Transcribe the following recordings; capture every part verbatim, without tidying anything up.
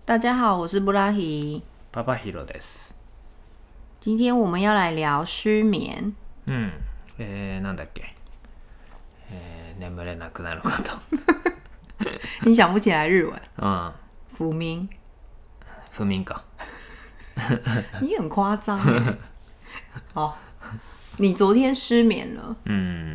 大家好，我是布拉希。 パパヒロです。 今天我们要来聊失眠。 うん。えー、なんだっけ。えー、眠れなくなること。 你想不起来日文？ 嗯。 福明。 不眠か。 你很夸张耶。好，你昨天失眠了。 うん。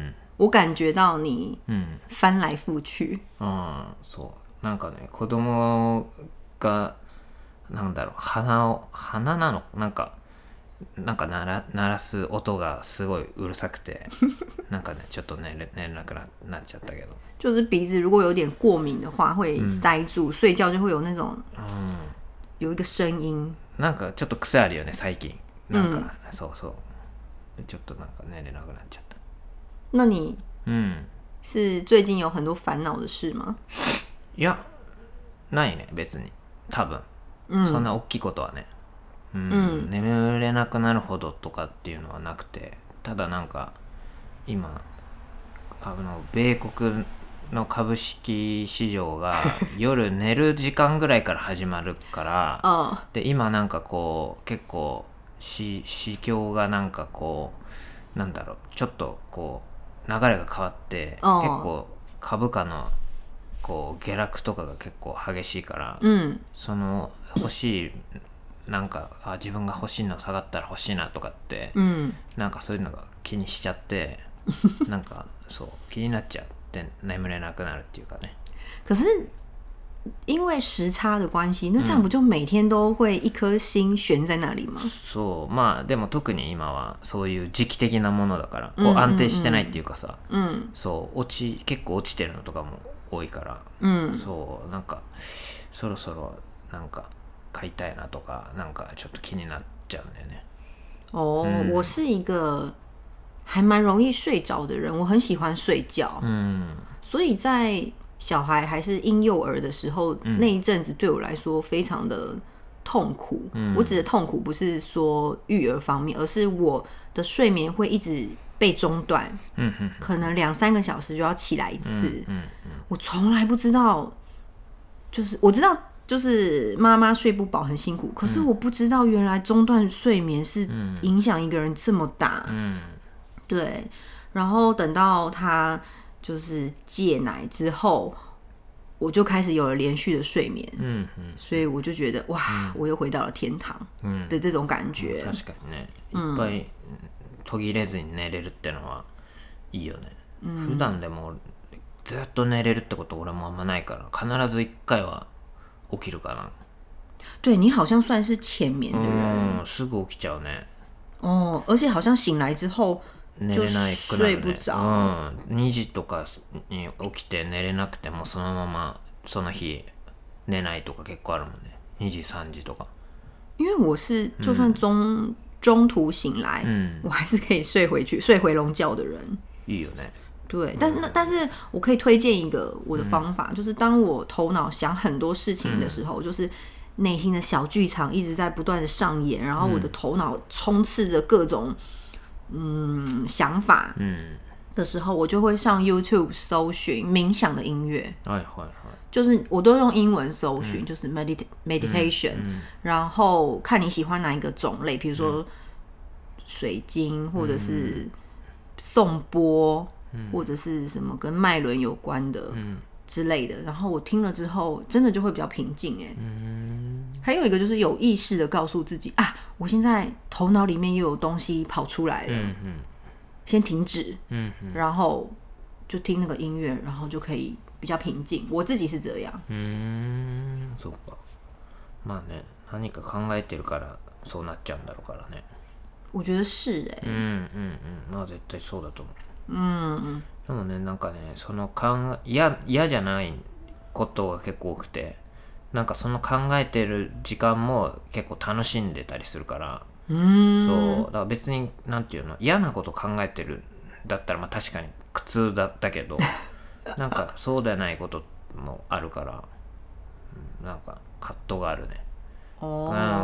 我感觉到你うん。 翻来覆去。 うん。そう。なんかね、子供がなんだろう、鼻を鼻なのなんかなんか鳴ら鳴らす音がすごいうるさくて、なんかねちょっと寝れ寝れなく な, なっちゃったけど。 就是鼻子如果有点过敏的话，会塞住，嗯、睡觉就会有那种、嗯、有一个声音。 なんかちょっと癖あるよね最近。なんか、うん、そうそう。ちょっとなんか寝れなくなっちゃった。 那你嗯是最近有很多烦恼的事吗？ いやないね別に多分、うん、そんな大きいことはね、うん、うん、眠れなくなるほどとかっていうのはなくて、ただなんか今あの米国の株式市場が夜寝る時間ぐらいから始まるからで今なんかこう結構市況がなんかこうなんだろうちょっとこう流れが変わって結構株価のこう下落とかが結構激しいから、うん、その欲しいなんかあ自分が欲しいの下がったら欲しいなとかって、うん、なんかそういうのが気にしちゃってなんかそう気になっちゃって眠れなくなるっていうかね。 可是因为时差的关系，那这样不就每天都会一颗心悬在那里吗？ そうまあでも特に今はそういう時期的なものだからこう安定してないっていうかさ、うんうんうん、そう落ち結構落ちてるのとかも多いから、うん、そうなんかそろそろなんか買いたいなとかなんかちょっと気になっちゃうんだよね。 哦、嗯，我是一个还蛮容易睡着的人，我很喜欢睡觉，嗯，所以在小孩还是婴幼儿的时候，嗯、那一阵子对我来说非常的痛苦。嗯、我指的痛苦不是说育儿方面，而是我的睡眠会一直被中断，嗯、可能两三个小时就要起来一次。嗯嗯嗯、我从来不知道，就是我知道，就是妈妈睡不饱很辛苦，可是我不知道原来中断睡眠是影响一个人这么大。嗯、对，然后等到他就是戒奶之后，我就开始有了连续的睡眠。嗯嗯，所以我就觉得哇、嗯，我又回到了天堂的这种感觉。 確かにね、いっぱい途切れずに寝れるってのはいいよね。うん、普段でもずっと寝れるってこと俺もあんまないから必ず一回は起きるかな。 对，你好像算是浅眠的人。 うん、すぐ起きちゃうね。 哦，而且好像醒来之後寝れなくなるね。うん、にじとかに起きて寝れなくてもそのままその日寝ないとか結構あるもんね。にじさんじとか。 因为我是就算中、嗯、中途醒来、嗯，我还是可以睡回去睡回笼觉的人。 いいよね。 对，但是那但是我可以推荐一个我的方法、嗯，就是当我头脑想很多事情的时候，嗯、就是内心的小剧场一直在不断的上演，然后我的头脑充斥着各种嗯想法的时候，我就会上 YouTube 搜寻冥想的音乐。 哎，会会。 就是我都用英文搜寻、嗯，就是 medit meditation，、嗯嗯、然后看你喜欢哪一个种类，比如说水晶，或者是颂钵、嗯，或者是什么跟脉轮有关的之类的。然后我听了之后，真的就会比较平静哎。嗯，还有一个就是有意识的告诉自己啊，我现在头脑里面又有东西跑出来了，嗯嗯、先停止，嗯，然后就听那个音乐，然后就可以。比较平静，我自己是这样。 うーん、そうか。まあね、何か考えてるからそうなっちゃうんだろうからね。 我觉得是哎、欸。 うんうんうん、まあ絶対そうだと思う。うん。でもね、なんかね、その考え嫌嫌じゃないことが結構多くて、なんかその考えてる時間も結構楽しんでたりするから。うーん。そう、だから別になんていうの嫌なこと考えてるだったらまあ確かに苦痛だったけど。なんかそうでないこともあるから、なんか葛藤があるね。うん、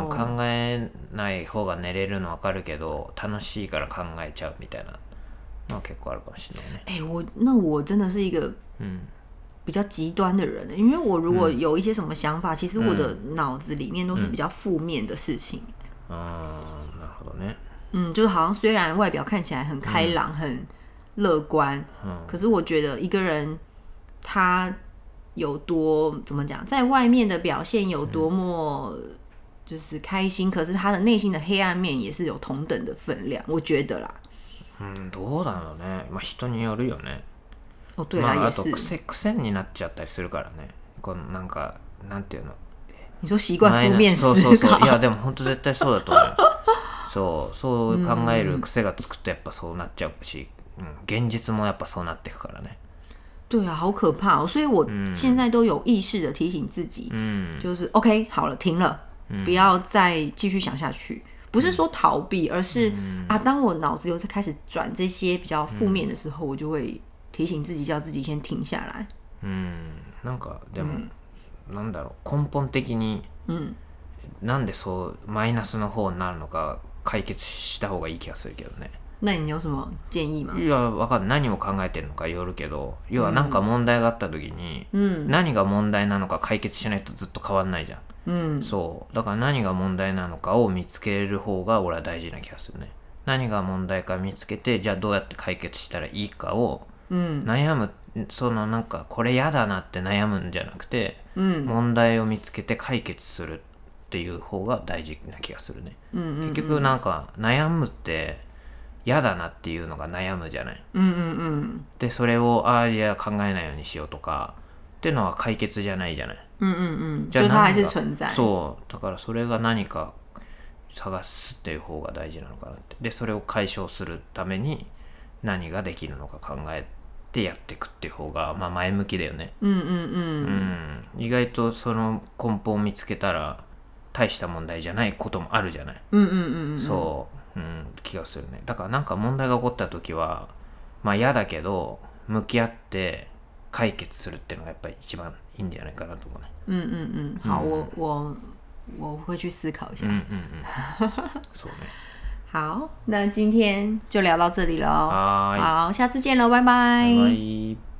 考えない方が寝れるの分かるけど楽しいから考えちゃうみたいなのは結構あるかもしれないね。 哎、欸，我那我真的是一个，嗯， 比较极端的人，因为我如果有一些什么想法，嗯、其实我的脑子里面都是比较负面的事情。 嗯，なるほどね。 嗯，就是好像虽然外表看起来很开朗、嗯、很乐观、嗯，可是我觉得一个人他有多怎么讲，在外面的表现有多么就是开心，嗯、可是他的内心的黑暗面也是有同等的分量，我觉得啦。 嗯，どうだろうね。まあ人によるよね。 哦，对啦， まあ、 也是。 あと癖癖になっちゃったりするからね。このなんかなんていうの。 你说習慣負面思考。 そうそうそう。いやでも本当絶対そうだと思う。そうそう考える癖がつくとやっぱそうなっちゃうし、うん、現実もやっぱそうなっていくからね。 对啊，好可怕哦！所以我现在都有意识的提醒自己，嗯，就是 OK 好了，停了，嗯、不要再继续想下去。不是说逃避，而是、嗯、啊，当我脑子又在开始转这些比较负面的时候，嗯、我就会提醒自己，叫自己先停下来。 嗯，なんかでも、うん、なんだろう根本的に、うん、なんでそうマイナスの方になるのか解決した方がいい気がするけどね。 那你有什么建議吗？ いやわかんない、何を考えてるのかよるけど、要は何か問題があった時に、うん、何が問題なのか解決しないとずっと変わんないじゃん。うん、そうだから何が問題なのかを見つける方が俺は大事な気がするね。何が問題か見つけて、じゃあどうやって解決したらいいかを悩む、うん、そのなんかこれ嫌だなって悩むんじゃなくて、うん、問題を見つけて解決するっていう方が大事な気がするね、うんうんうん、結局なんか悩むって嫌だなっていうのが悩むじゃない、うんうんうん、でそれをああじゃあ考えないようにしようとかっていうのは解決じゃないじゃない、うんうんうん、じゃあ何がそうだからそれが何か探すっていう方が大事なのかなって。でそれを解消するために何ができるのか考えてやっていくっていう方が、まあ、前向きだよね、うんうんうんうん、意外とその根本を見つけたら大した問題じゃないこともあるじゃない、うんうんうんうん、そう、うん、気がするね。だからなんか問題が起こった時はまあ嫌だけど向き合って解決するっていうのがやっぱり一番いいんじゃないかなと思うね。 うんうんうん。好、嗯、我我我会去思考一下。嗯嗯嗯。そうね。 好，那今天就聊到这里了。 好， 好，下次见喽，拜拜。 拜拜。